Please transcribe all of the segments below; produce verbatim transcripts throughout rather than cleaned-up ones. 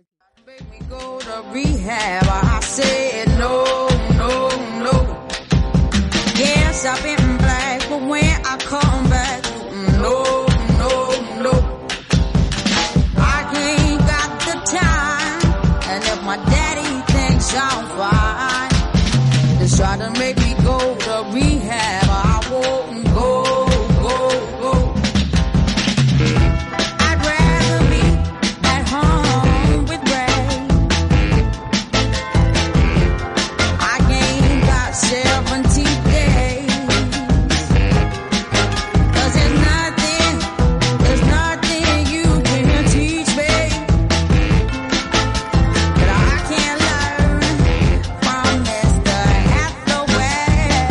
Make me go to rehab. I said no, no, no. Yes, I've been black, but when I come back, no, no, no. I ain't got the time, and if my daddy thinks I'm fine, just try to make me go to rehab. I won't go, go, go. I'd rather be at home with Ray. I ain't got seventy days. Cause there's nothing, there's nothing you can teach me that I can't learn from Mister Hathaway.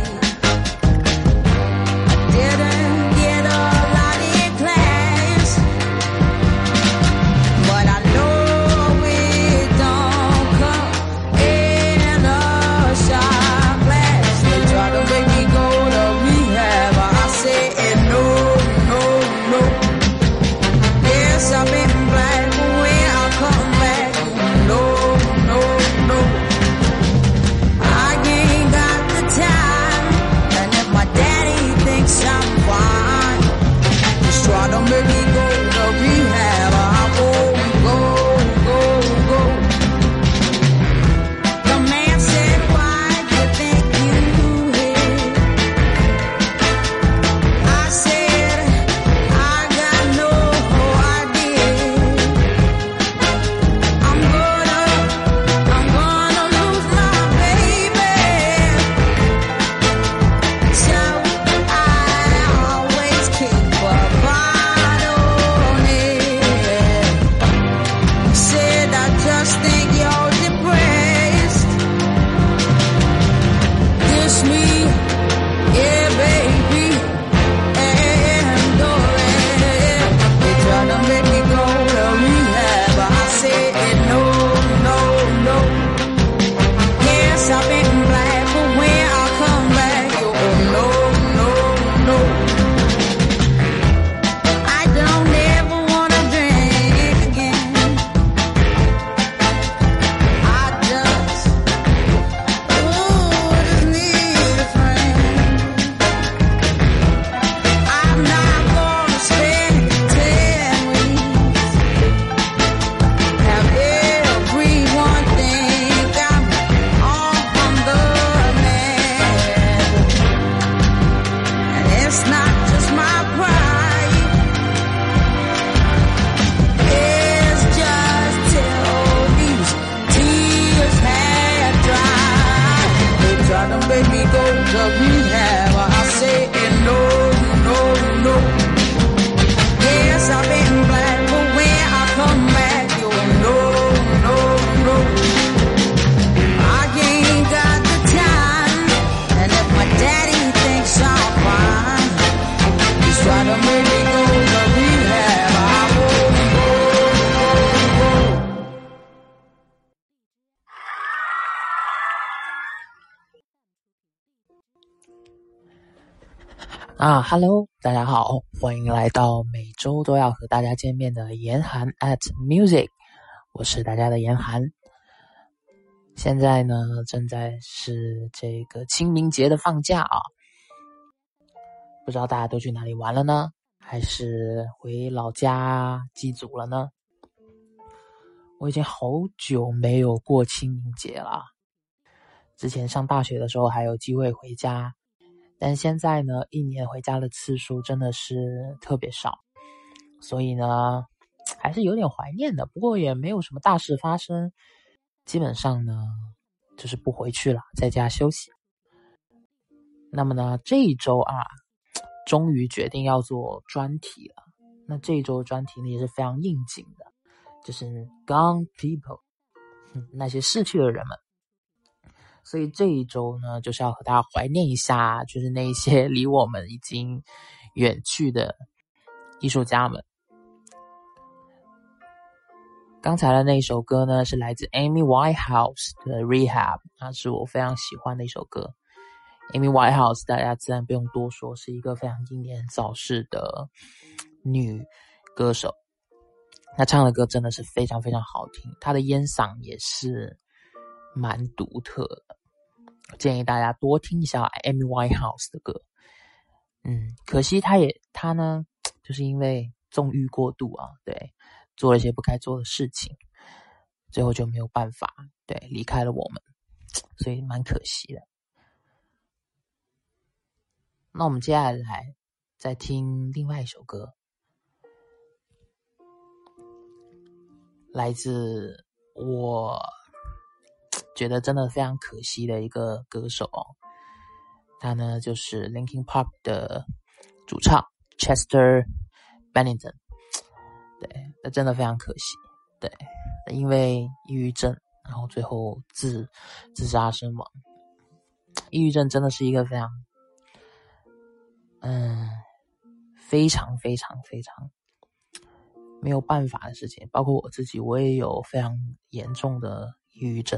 I didn't get a lot in class, but I know it don't come in a shot glass. They try to make me go to rehab, I said no, no, no. Yes, I've been black, but when I come back, no, no, no. I ain't got the time, and if my daddy thinks I'm fine, just try to make me go to rehab. I won't go, go, go. The man said, why do you think you hit? I said, I got no idea. I'm gonna, I'm gonna lose my baby. So I always keep a bottle near. Said I just think you're depressed. This me, yeah, baby, and go ahead. They try to make me go to rehab, I said no, no, no. Yes, I've been black, but when I come back, oh no, no, no. I don't ever wanna drink again. I just, ooh, just need a friend. I'm not gonna spend ten weeks. Have everyone think I'm on the man. And it's not just my pride. It's just till these tears had dried. They try to make me go to rehab. I say no, no, no. Yes, I've been black, but when I come back, you no, no, no. I ain't got the time, and if my daddy thinks I'm fine, just try to make me go to rehab. I won't go, go, go. 啊，Hello，大家好，欢迎来到每周都要和大家见面的严寒 at music， 我是大家的严寒。现在呢，正在是这个清明节的放假啊，不知道大家都去哪里玩了呢？还是回老家祭祖了呢？我已经好久没有过清明节了，之前上大学的时候还有机会回家。但现在呢，一年回家的次数真的是特别少，所以呢，还是有点怀念的。不过也没有什么大事发生，基本上呢，就是不回去了，在家休息。那么呢，这一周啊，终于决定要做专题了。那这一周专题呢也是非常应景的，就是 Gone People， 那些逝去的人们。所以这一周呢，就是要和大家怀念一下，就是那些离我们已经远去的艺术家们。刚才的那一首歌呢，是来自 Amy Winehouse 的 Rehab， 那是我非常喜欢的一首歌。Amy Winehouse 大家自然不用多说，是一个非常英年早逝的女歌手。 他唱的歌真的是非常非常好听，他的烟嗓也是蛮独特的，建议大家多听一下 Amy Winehouse 的歌。嗯，可惜他也他呢，就是因为纵欲过度啊，对，做了一些不该做的事情，最后就没有办法，对，离开了我们，所以蛮可惜的。那我们接下来再听另外一首歌，来自我觉得真的非常可惜的一个歌手哦，他呢就是 Linkin Park 的主唱 Chester Bennington。 对，那真的非常可惜，对，因为抑郁症然后最后自自杀身亡。抑郁症真的是一个非常嗯非常非常非常没有办法的事情，包括我自己，我也有非常严重的抑郁症。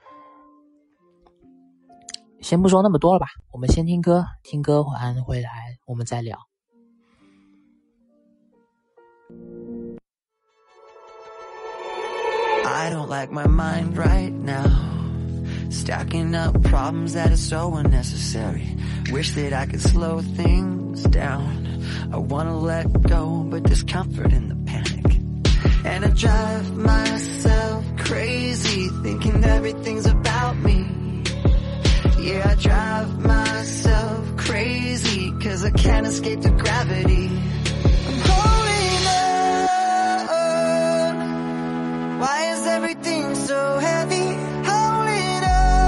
先不说那么多了吧，我们先听歌，听歌完回来我们再聊。 I don't like my mind right now, stacking up problems that are so unnecessary. Wish that I could slow things down. I wanna let go, but there's comfort in the panic. And I drive myself crazy, thinking everything's about me. Yeah, I drive myself crazy, cause I can't escape the gravity. I'm holding on. Why is everything so heavy? Holding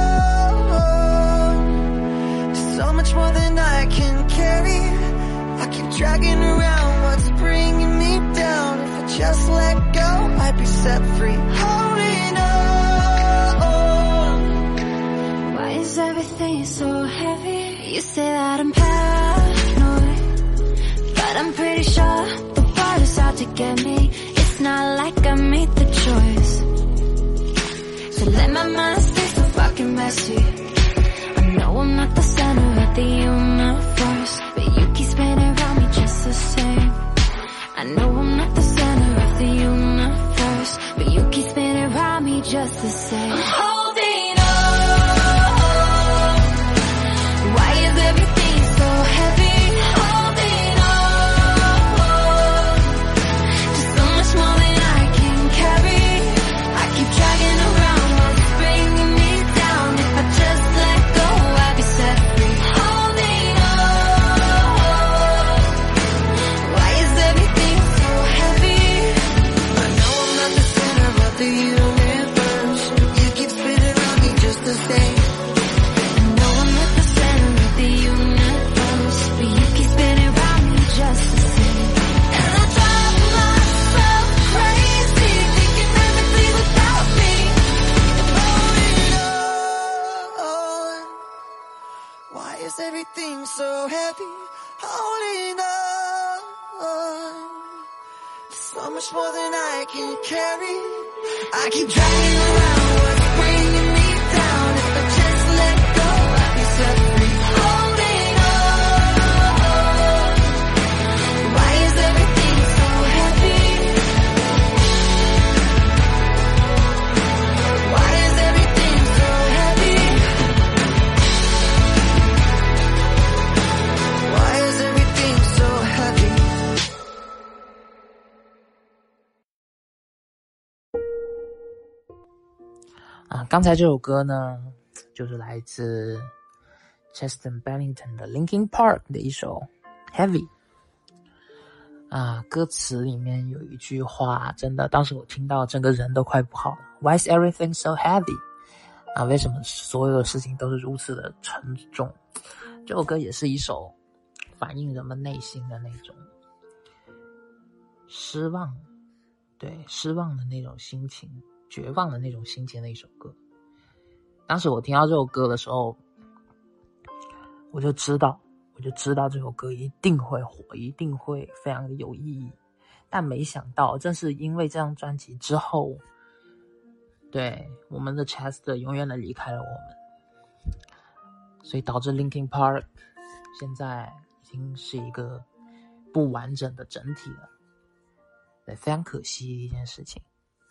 on. So much more than I can carry. I keep dragging around what's bringing me down. If I just let go, I'd be set free. Holding on. Why is everything so heavy? You say that I'm paranoid, but I'm pretty sure the world is out to get me. It's not like I made the choice to let my mind stay so fucking messy. I know I'm not the center of the universe, but you keep spinning around me just the same. I know I'm not the center of the universe, but you keep spinning around me just the same. I'm holding on. Why is everything so heavy? Holding on. Just so much more than I can carry. I keep dragging around what's bringing me down. If I just let go, I'd be set free. Holding on. Why is everything so heavy? I know I'm not the center of the universe. You keep spinning around me just the same. I know I'm not the center of the universe, but you keep spinning around me just the same. And I drive myself crazy, thinking everything's about me. Holding on. Why is everything so heavy? Holding on. So much more than I can carry. I keep dragging around what's bringing me down. If I just let go, I'd be set free. Holding on. Why is everything so heavy? Why is everything so heavy? Why is everything so heavy? 啊，刚才这首歌呢，就是来自 Chester Bennington 的 Linkin Park 的一首 Heavy。啊，歌词里面有一句话，真的，当时我听到整个人都快不好了。Why is everything so heavy？ 啊，为什么所有的事情都是如此的沉重？这首歌也是一首反映人们内心的那种失望，对，失望的那种心情，绝望的那种心情的一首歌。当时我听到这首歌的时候，我就知道我就知道这首歌一定会火，一定会非常的有意义。但没想到正是因为这张专辑之后，对，我们的 Chester 永远的离开了我们，所以导致 Linkin Park 现在已经是一个不完整的整体了。 对，非常可惜的一件事情。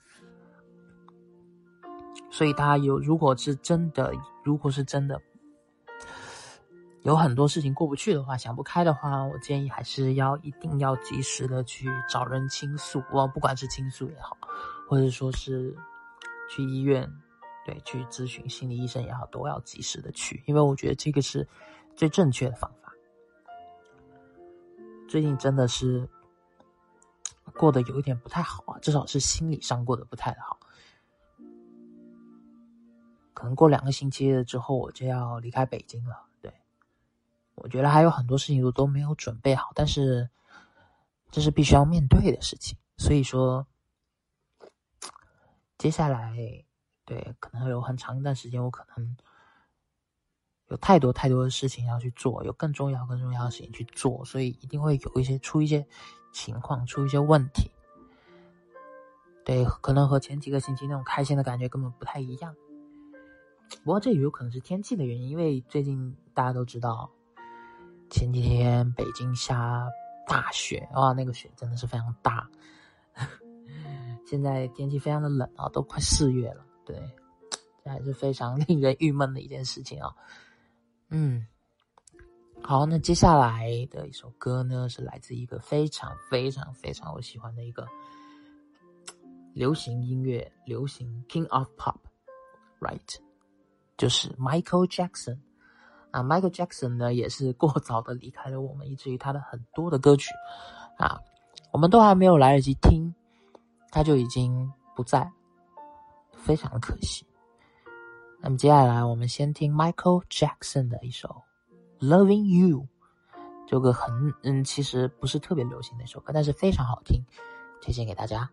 所以大家有，如果是真的，如果是真的有很多事情过不去的话，想不开的话，我建议还是要一定要及时的去找人倾诉，不管是倾诉也好，或者说是去医院，对，去咨询心理医生也好，都要及时的去，因为我觉得这个是最正确的方法。最近真的是过得有一点不太好啊，至少是心理上过得不太好。可能过两个星期了之后，我就要离开北京了。对，我觉得还有很多事情我都没有准备好，但是这是必须要面对的事情。所以说，接下来对可能有很长一段时间，我可能有太多太多的事情要去做，有更重要更重要的事情去做，所以一定会有一些出一些情况，出一些问题。对，可能和前几个星期那种开心的感觉根本不太一样。不过这也有可能是天气的原因，因为最近大家都知道，前几天北京下大雪，哇，那个雪真的是非常大。现在天气非常的冷啊，都快四月了，对，这还是非常令人郁闷的一件事情啊。嗯，好，那接下来的一首歌呢，是来自一个非常非常非常我喜欢的一个流行音乐，流行 King of Pop，right？ 就是 Michael Jackson 啊 ，Michael Jackson 呢也是过早的离开了我们，以至于他的很多的歌曲啊，我们都还没有来得及听，他就已经不在，非常的可惜。那么接下来我们先听 Michael Jackson 的一首 Loving You， 这个很嗯，其实不是特别流行的一首歌，但是非常好听，推荐给大家。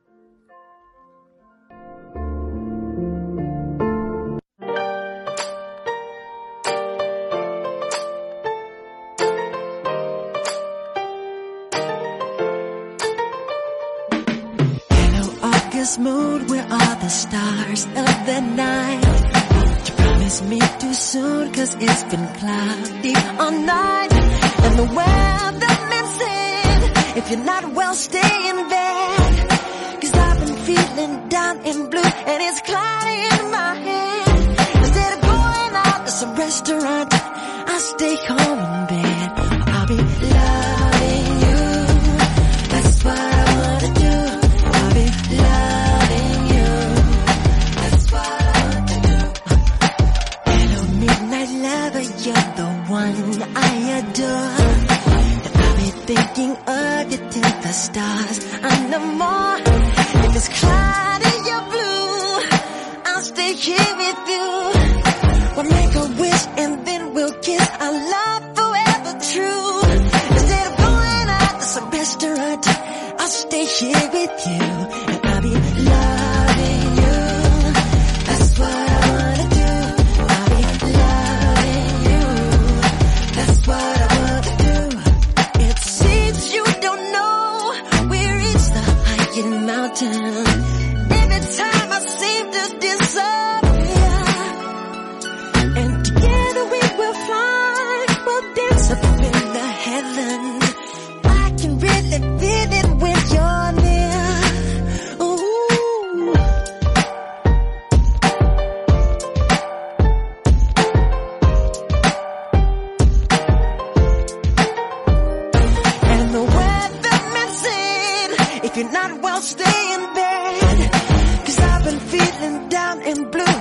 Mood where all the stars of the night you promise me too soon, cause it's been cloudy all night and the weatherman said if you're not well stay in bed, cause I've been feeling down and blue and it's cloudy in my head. Instead of going out to some restaurant, I'll stay home in bed. I'll be loving you, that's what I wanna do. I'll be loving you, that's what I want to do. Hello midnight lover, you're the one I adore. And I'll be thinking of you till the stars and no more. If it's cloudy or blue, I'll stay here with you. We'll make a wish and then we'll kiss our love forever true. Instead of going out to some restaurant, I'll stay here with you. And I'll be loving you, that's what I wanna do. I'll be loving you, that's what I wanna do. It seems you don't know we reached the highest mountain. Every time I seem to disappear, and together we will fly, we'll dance up in the heavens. I can really feel it when you're near. Ooh. And the weatherman said if you're not well stay in bed, cause I've been feeling down and blue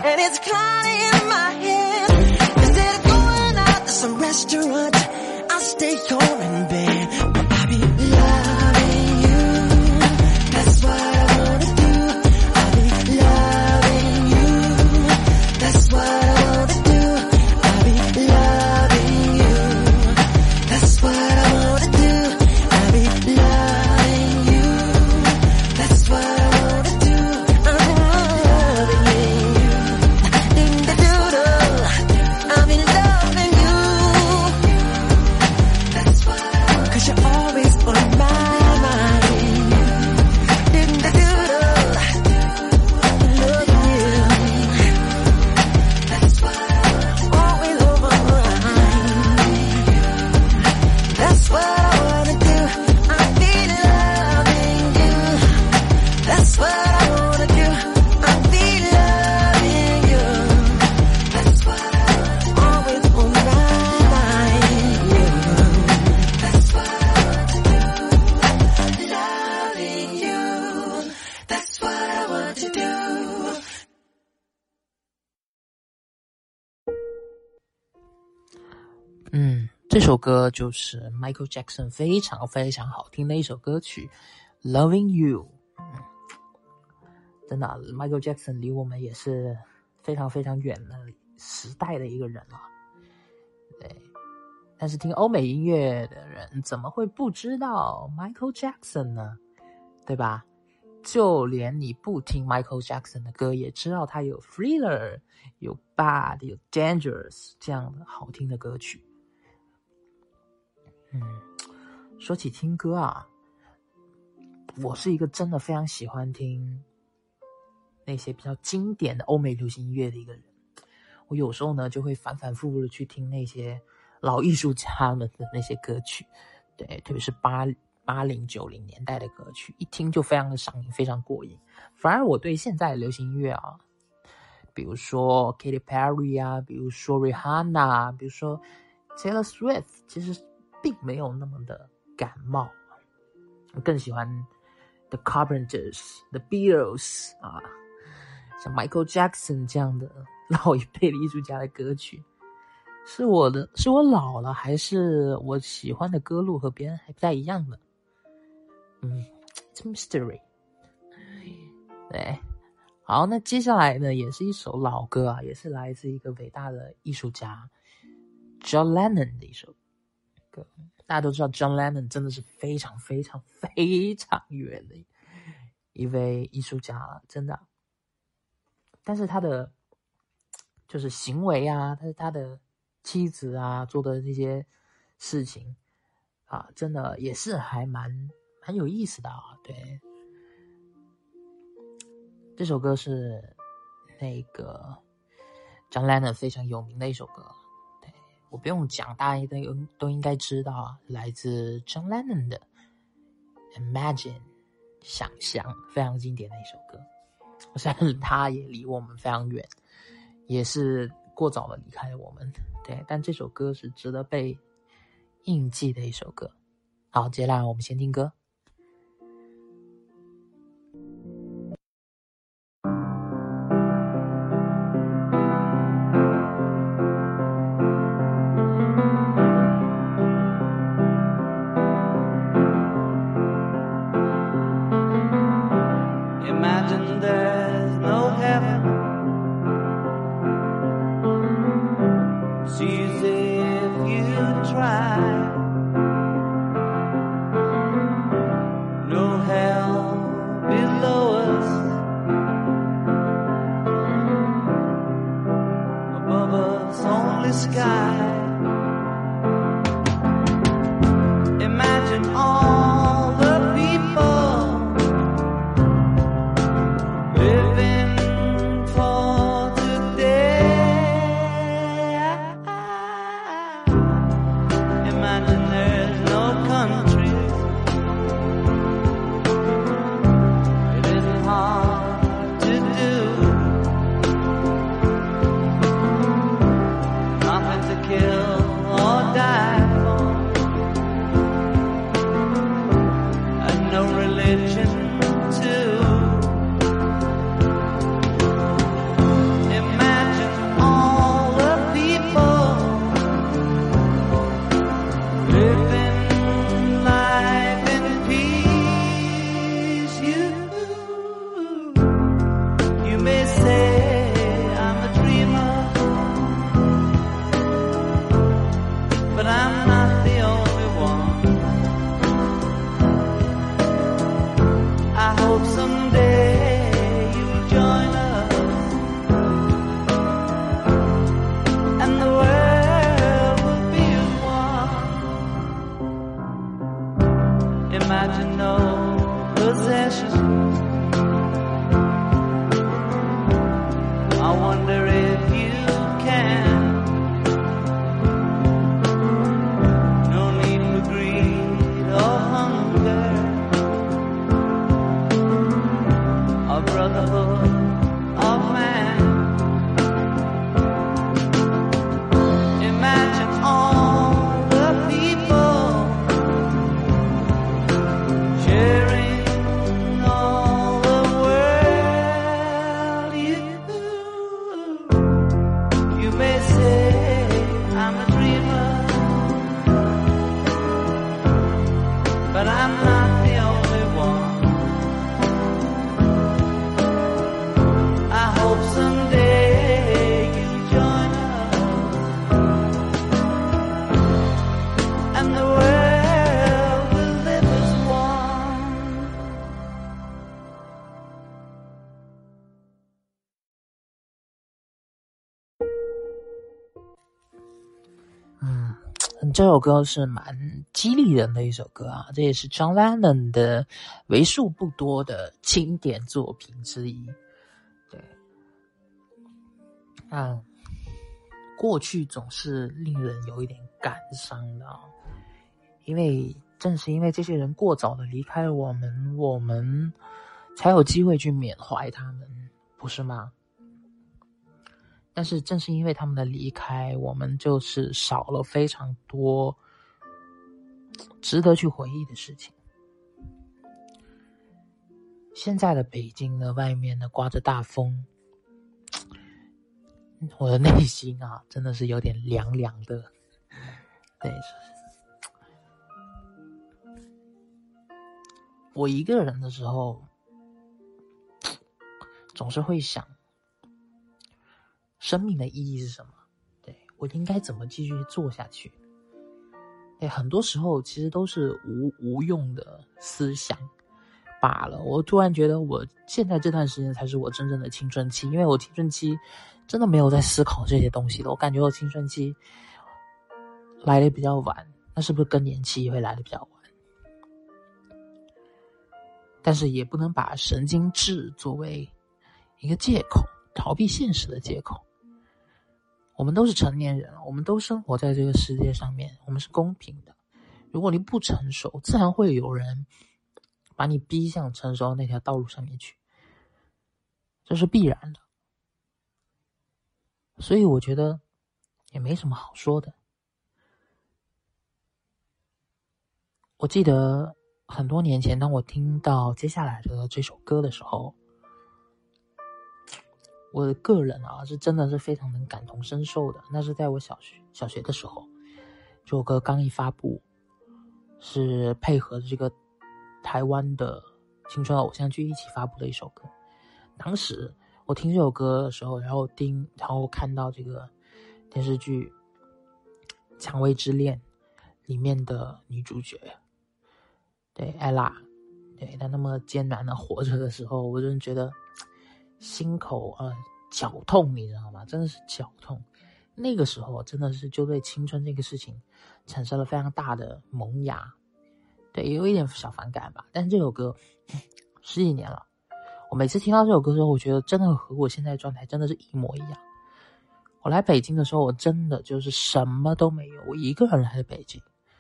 嗯，这首歌就是 Michael Jackson 非常非常好听的一首歌曲 Loving You。 真的、啊、Michael Jackson 离我们也是非常非常远的时代的一个人了。对，但是听欧美音乐的人怎么会不知道 Michael Jackson 呢？对吧？就连你不听 Michael Jackson 的歌也知道他有 Thriller 有 Bad 有 Dangerous 这样的好听的歌曲。嗯，说起听歌啊，我是一个真的非常喜欢听那些比较经典的欧美流行音乐的一个人。我有时候呢就会反反复复的去听那些老艺术家们的那些歌曲，对，特别是八八零九零年代的歌曲，一听就非常的上瘾，非常过瘾。反而我对现在的流行音乐啊，比如说 Katy Perry 啊，比如说 Rihanna， 比如说 Taylor Swift， 其实并没有那么的感冒。我更喜欢 The Carpenters、The Beatles 啊，像 Michael Jackson 这样的老一辈的艺术家的歌曲。是我的，是我老了，还是我喜欢的歌路和别人还不太一样的？嗯 ，It's a mystery。对，好，那接下来呢，也是一首老歌啊，也是来自一个伟大的艺术家 John Lennon 的一首歌。大家都知道 John Lennon 真的是非常非常非常远的一位艺术家了，真的。但是他的就是行为啊，但是他的妻子啊做的这些事情啊，真的也是还蛮蛮有意思的啊。对，这首歌是那个 John Lennon 非常有名的一首歌，对，我不用讲，大家都都应该知道啊，来自 John Lennon 的 Imagine 想象，非常经典的一首歌。虽然他也离我们非常远，也是过早的离开了我们，对，但这首歌是值得被印记的一首歌。好，接下来我们先听歌。 You may say I'm a dreamer, 这首歌是蛮激励人的一首歌啊，这也是 John Lennon 的为数不多的经典作品之一。对，啊，过去总是令人有一点感伤的啊，因为正是因为这些人过早的离开了我们，我们才有机会去缅怀他们，不是吗？但是正是因为他们的离开，我们就是少了非常多值得去回忆的事情。现在的北京呢，外面呢刮着大风，我的内心啊真的是有点凉凉的。对，我一个人的时候总是会想生命的意义是什么？对，我应该怎么继续做下去？对，很多时候其实都是无无用的思想罢了。我突然觉得我现在这段时间才是我真正的青春期，因为我青春期真的没有在思考这些东西的。我感觉我青春期来的比较晚，那是不是更年期也会来的比较晚？但是也不能把神经质作为一个借口，逃避现实的借口。我们都是成年人，我们都生活在这个世界上面，我们是公平的。如果你不成熟，自然会有人把你逼向成熟的那条道路上面去，这是必然的。所以我觉得也没什么好说的。我记得很多年前，当我听到接下来的这首歌的时候，我的个人啊是真的是非常能感同身受的。那是在我小学小学的时候，这首歌刚一发布，是配合这个台湾的青春偶像剧一起发布的一首歌。当时我听这首歌的时候，然后听然后看到这个电视剧《蔷薇之恋》里面的女主角，对艾拉，对她那么艰难的活着的时候，我真的觉得心口呃绞痛，你知道吗？真的是绞痛。那个时候真的是就对青春这个事情产生了非常大的萌芽，对，也有一点小反感吧。但是这首歌十几年了，我每次听到这首歌的时候，我觉得真的和我现在的状态真的是一模一样。我来北京的时候，我真的就是什么都没有，我一个人来的北京，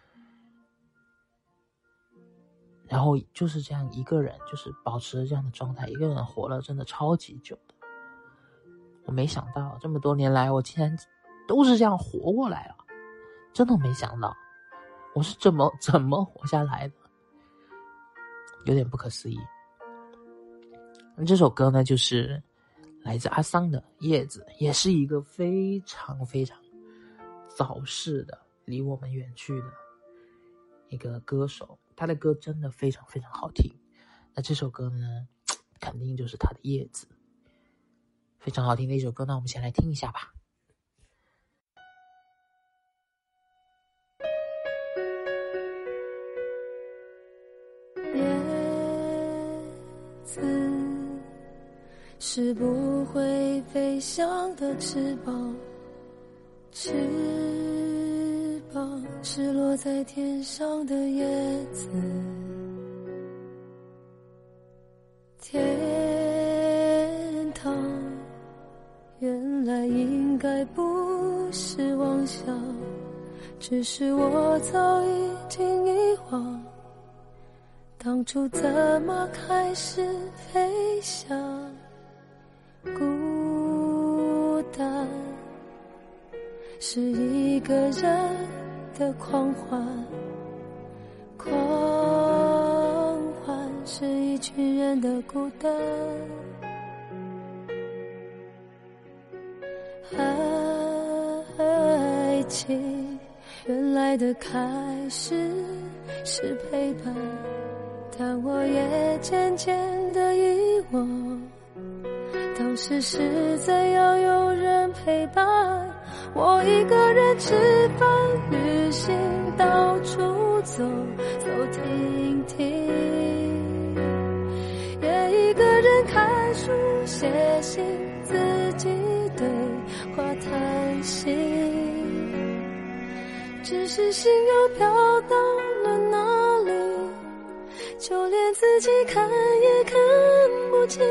然后就是这样一个人，就是保持着这样的状态，一个人活了真的超级久的。我没想到这么多年来，我竟然都是这样活过来了，真的没想到我是怎么怎么活下来的，有点不可思议。那这首歌呢，就是来自阿桑的《叶子》，也是一个非常非常早逝的、离我们远去的一个歌手，他的歌真的非常非常好听。那这首歌呢，肯定就是他的《叶子》，非常好听的一首歌。那我们先来听一下吧。 叶子是不会飞翔的翅膀，翅膀是落在天上的叶子。天堂原来应该不是妄想，只是我早已经遗忘当初怎么开始飞翔。孤单是一个人的狂欢，狂欢是一群人的孤单。爱情原来的开始是陪伴，但我也渐渐地遗忘当时是怎样有人陪伴。我一个人吃饭旅行，到处走走停停，也一个人看书写信，自己对话谈心。 只是心又飘到了哪里，就连自己看也看不清。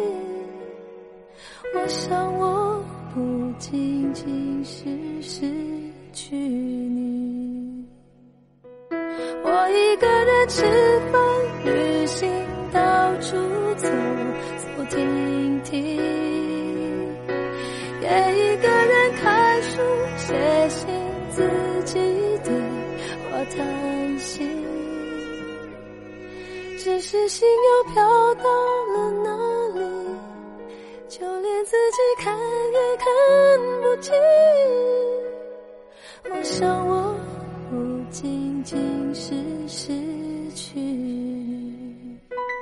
我想我不仅仅是失去你，我一个人吃饭旅行，到处走走停停，也一个人看书写信，自己对话叹息。只是心又飘到了哪里，就连自己看也看不清。我想我不仅仅是失去你。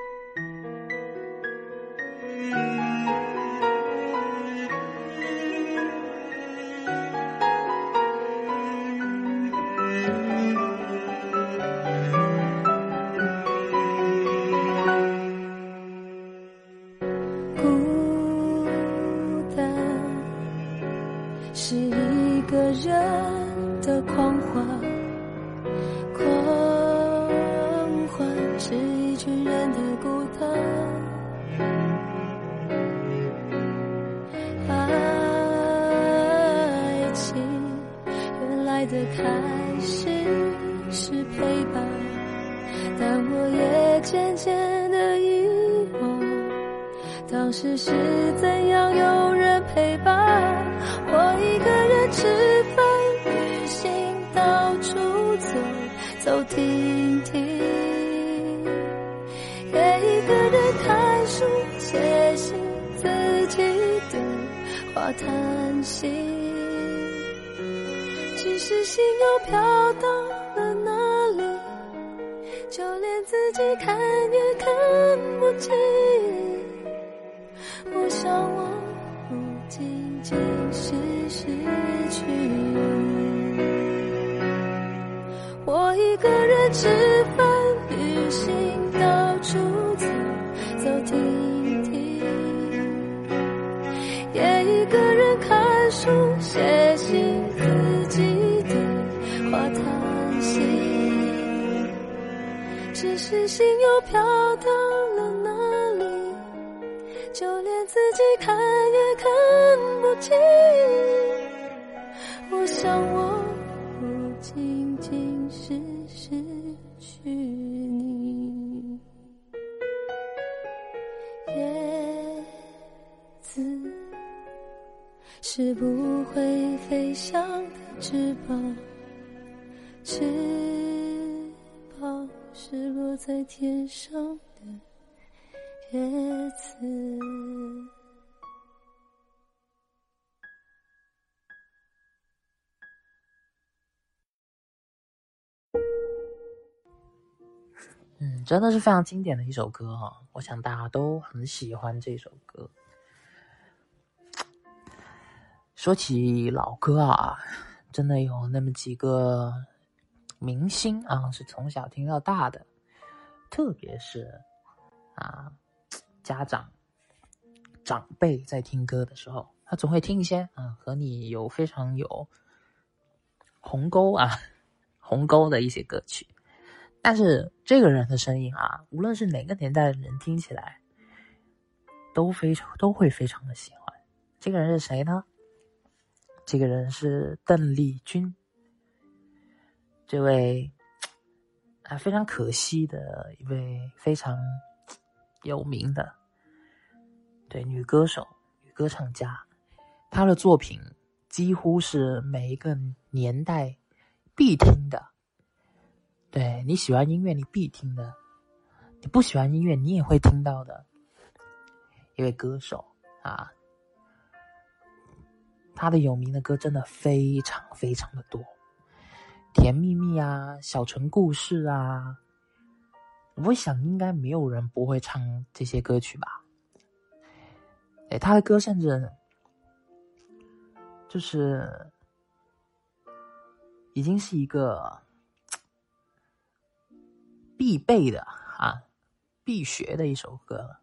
是一个人的狂欢，狂欢是一群人的孤单。爱情原来的开始是陪伴，但我也渐渐的遗忘，当时是怎样有人陪伴。我一个人吃饭旅行，到处走走停停，也一个人看书写信，自己对话叹息。只是心又飘到了哪里，就连自己看也看不清。我想我不仅仅是失去你，我一个人吃饭旅行，到处走走停停，也一个人看书写信，自己对话叹息。只是心又飘到了哪里，就连自己看也看不清。我想我不仅仅是失去你。叶子是不会飞翔的翅膀，翅膀是落在天上的叶子。 嗯，真的是非常经典的一首歌哈、哦，我想大家都很喜欢这首歌。说起老歌啊，真的有那么几个明星啊，是从小听到大的，特别是啊，家长长辈在听歌的时候，他总会听一些啊和你有非常有鸿沟啊鸿沟的一些歌曲。但是这个人的声音啊，无论是哪个年代的人听起来都非常都会非常的喜欢。这个人是谁呢？这个人是邓丽君，这位啊非常可惜的一位非常有名的对女歌手、女歌唱家。她的作品几乎是每一个年代必听的。对，你喜欢音乐你必听的，你不喜欢音乐你也会听到的一位歌手啊。他的有名的歌真的非常非常的多，甜蜜蜜啊，小城故事啊，我想应该没有人不会唱这些歌曲吧。对，他的歌甚至就是已经是一个必备的啊，必学的一首歌了。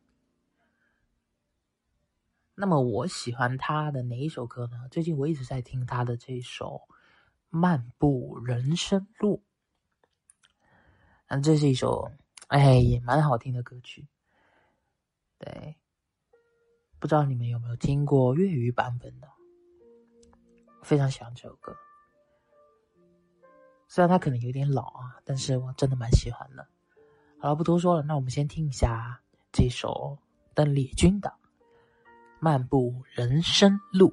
那么我喜欢他的哪一首歌呢？最近我一直在听他的这首漫步人生路。那这是一首哎也蛮好听的歌曲。对，不知道你们有没有听过粤语版本的？非常喜欢这首歌，虽然它可能有点老啊，但是我真的蛮喜欢的。好了，不多说了，那我们先听一下这首邓丽君的《漫步人生路》。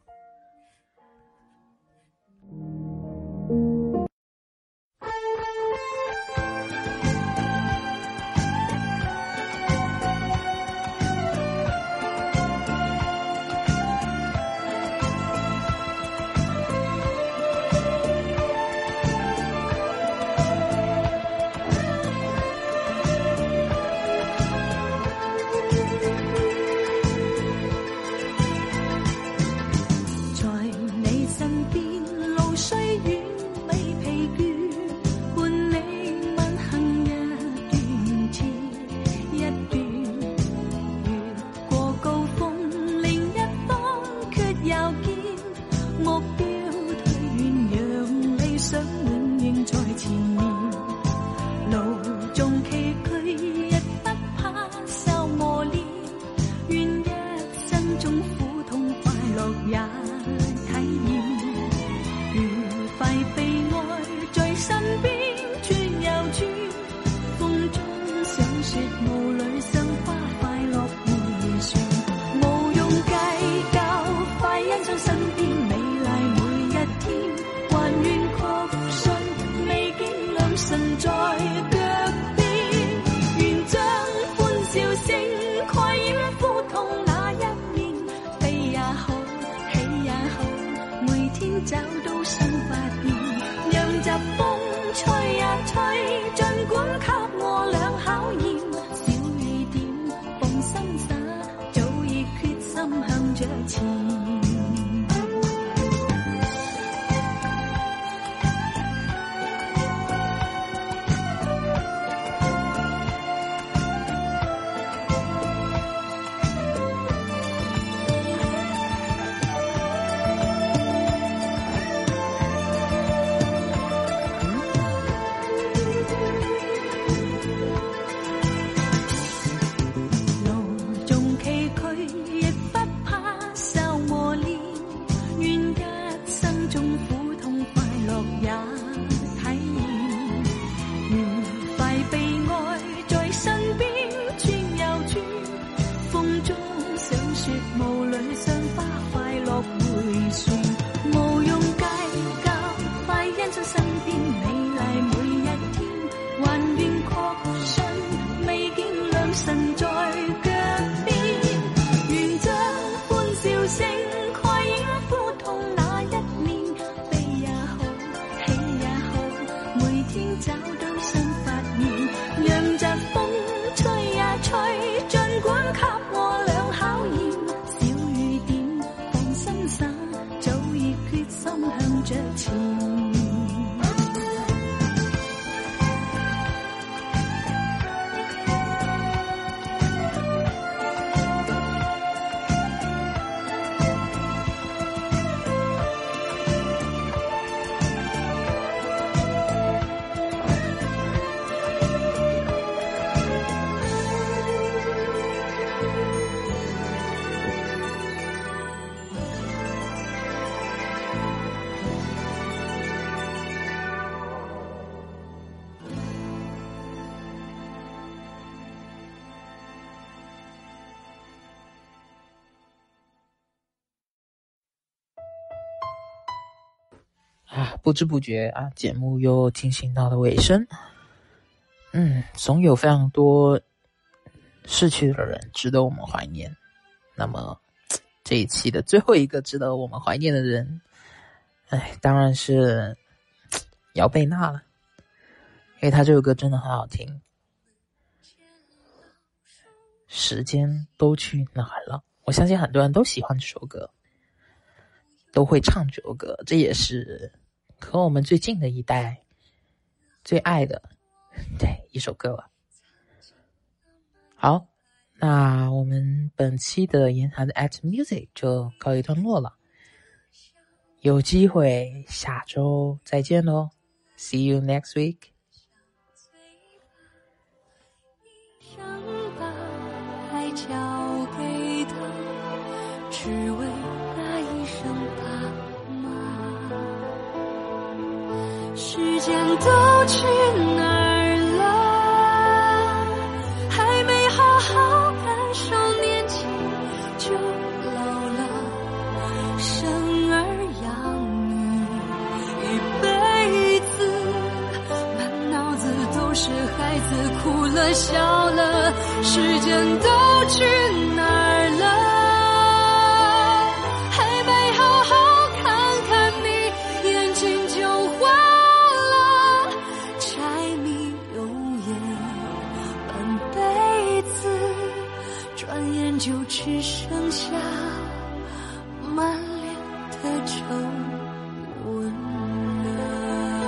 找到新發現，讓疾風吹呀吹，儘管給我倆考驗，小雨點放心灑，早已決心向着前。 啊，不知不觉啊，节目又进行到了尾声。嗯，总有非常多逝去的人值得我们怀念。那么这一期的最后一个值得我们怀念的人，哎，当然是姚贝娜了，因为她这首歌真的很好听。时间都去哪儿了？我相信很多人都喜欢这首歌，都会唱这首歌，这也是和我们最近的一代最爱的对一首歌了。好，那我们本期的言谈的 at music 就告一段落了。 有机会下周再见咯 See you next week。 想把爱交给他，只为那一声爸妈。时间都去哪儿了？还没好好感受年轻就老了。生儿养女一辈子，满脑子都是孩子哭了笑了。时间都去哪儿了？还没好好看看你，眼睛就花了。柴米油盐半辈子，转眼就只剩下满脸的皱纹了。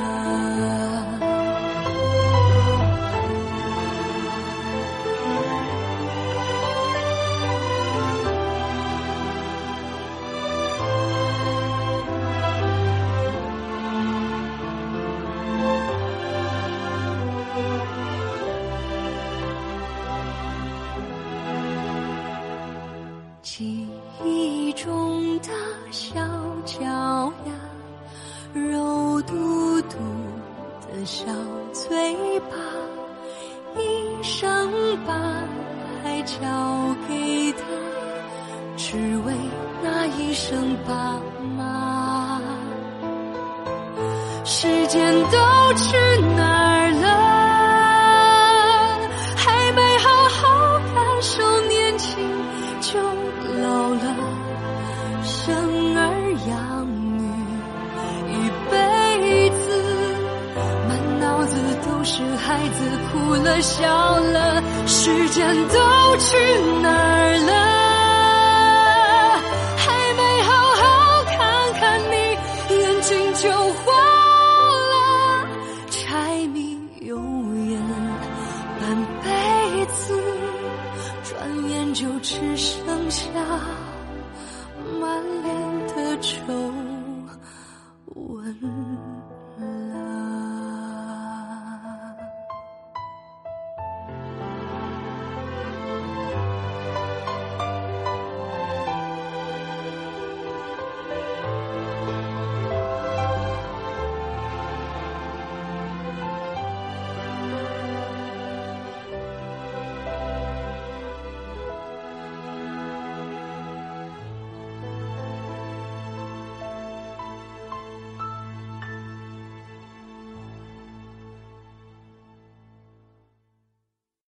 记忆中的小脚丫，肉嘟嘟的小嘴巴，一声把爱交给他，只为那一声爸妈。时间都去哪儿了？还没好好感受年轻就老了。生儿养女一辈子，满脑子都是孩子哭了笑了。时间都去哪儿了？还没好好看看你，眼睛就花了。柴米油盐半辈子，转眼就只剩下满脸的皱纹。